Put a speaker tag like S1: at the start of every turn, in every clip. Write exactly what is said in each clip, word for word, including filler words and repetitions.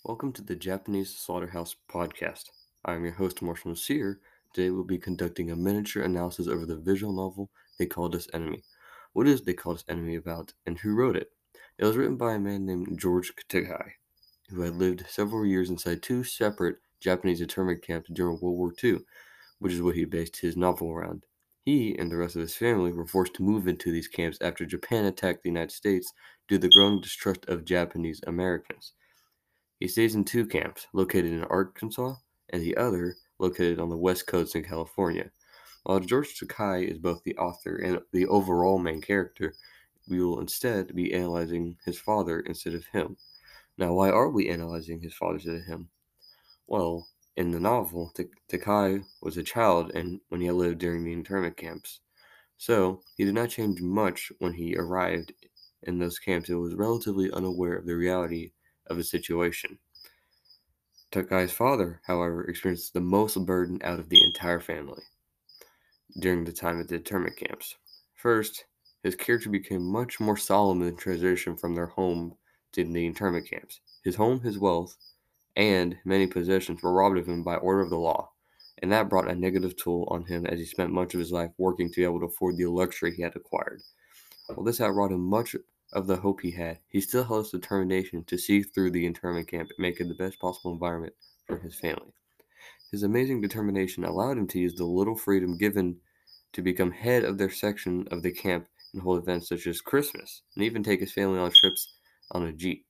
S1: Welcome to the Japanese Slaughterhouse Podcast. I am your host, Marshall Nasir. Today we'll be conducting a miniature analysis over the visual novel They Called Us Enemy. What is They Called Us Enemy about, and who wrote it? It was written by a man named George Takai, who had lived several years inside two separate Japanese internment camps during World War Two, which is what he based his novel around. He and the rest of his family were forced to move into these camps after Japan attacked the United States due to the growing distrust of Japanese Americans. He stays in two camps, located in Arkansas and the other located on the west coast in California. While George Takei is both the author and the overall main character, we will instead be analyzing his father instead of him. Now, why are we analyzing his father instead of him? Well, in the novel, Takei was a child and when he lived during the internment camps. So, he did not change much when he arrived in those camps and was relatively unaware of the reality of the situation. Takai's father, however, experienced the most burden out of the entire family during the time at the internment camps. First, his character became much more solemn in the transition from their home to the internment camps. His home, his wealth, and many possessions were robbed of him by order of the law, and that brought a negative toll on him as he spent much of his life working to be able to afford the luxury he had acquired. While this had robbed him much of the hope he had, he still held his determination to see through the internment camp and make it the best possible environment for his family. His amazing determination allowed him to use the little freedom given to become head of their section of the camp and hold events such as Christmas, and even take his family on trips on a jeep.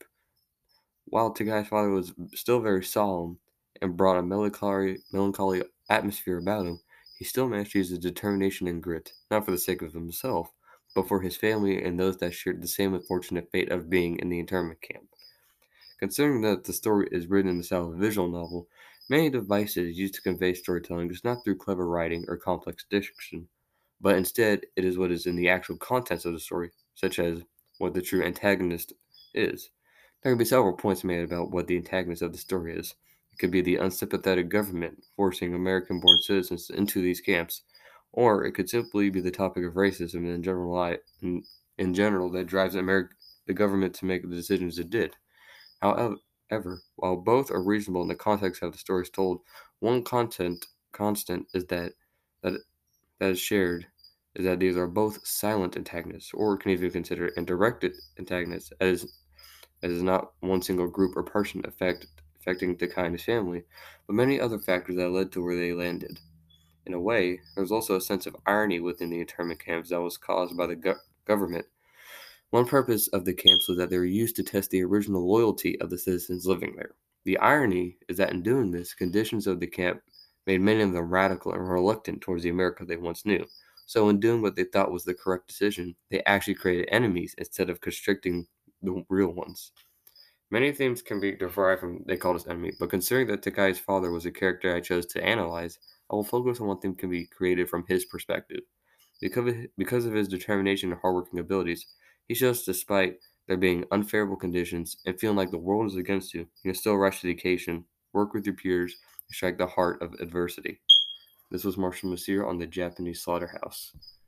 S1: While Takai's father was still very solemn and brought a melancholy, melancholy atmosphere about him, he still managed to use his determination and grit, not for the sake of himself, but for his family and those that shared the same unfortunate fate of being in the internment camp. Considering that the story is written in the style of a visual novel, many devices used to convey storytelling is not through clever writing or complex diction, but instead it is what is in the actual contents of the story, such as what the true antagonist is. There can be several points made about what the antagonist of the story is. It could be the unsympathetic government forcing American born citizens into these camps, or it could simply be the topic of racism in general, in, in general that drives Ameri- the government to make the decisions it did. However, while both are reasonable in the context of the stories told, one content constant is that that that is shared is that these are both silent antagonists, or can even consider indirect antagonists, as as is not one single group or person affect, affecting the kind of family, but many other factors that led to where they landed. In a way, there was also a sense of irony within the internment camps that was caused by the go- government. One purpose of the camps was that they were used to test the original loyalty of the citizens living there. The irony is that in doing this, conditions of the camp made many of them radical and reluctant towards the America they once knew. So, in doing what they thought was the correct decision, they actually created enemies instead of constricting the real ones. Many themes can be derived from They Called Us Enemy, but considering that Takai's father was a character I chose to analyze, I will focus on one theme can be created from his perspective. Because of, because of his determination and hardworking abilities, he shows despite there being unfavorable conditions and feeling like the world is against you, you can still rush to the occasion, work with your peers, and strike the heart of adversity. This was Marshall Nasir on the Japanese Slaughterhouse.